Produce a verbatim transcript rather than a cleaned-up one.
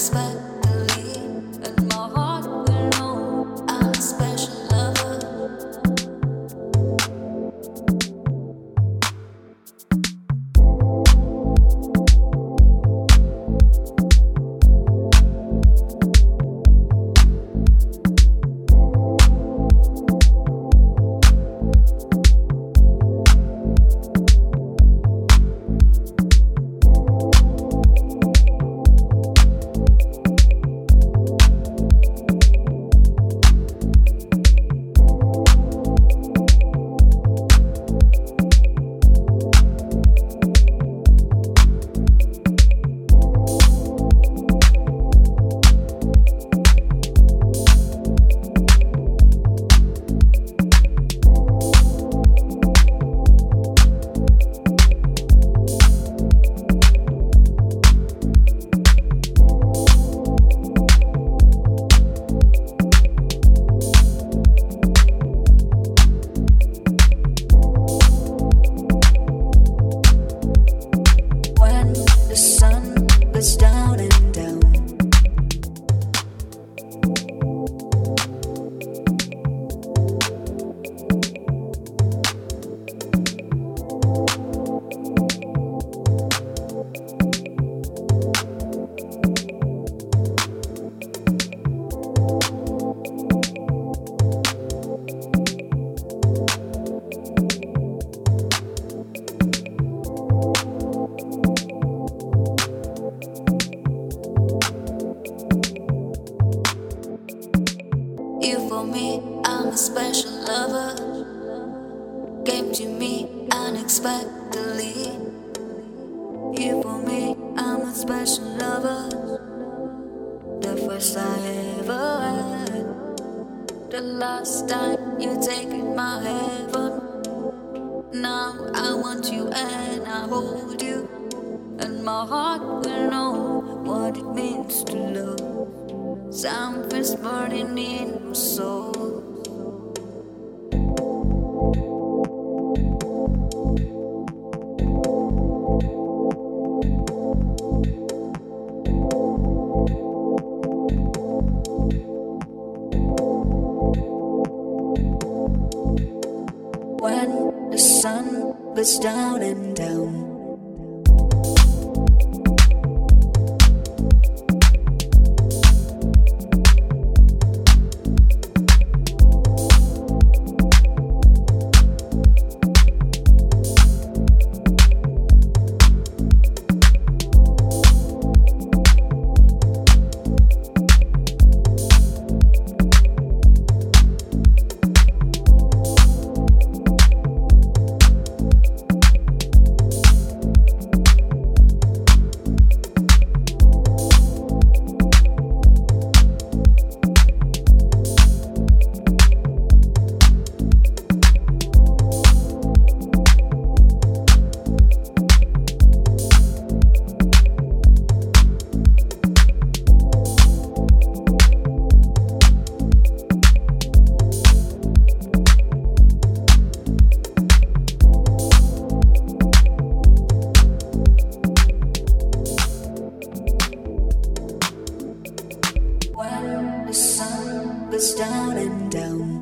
unexpectedly, and my heart will know I'm a special lover. Down and down. You for me, I'm a special lover. Came to me unexpectedly. You for me, I'm a special lover. The first I ever had. The last time you taken my heaven. Now I want you and I hold you, and my heart will know what it means to love. Something's burning in my soul. When the sun goes down and down. The sun goes down and down.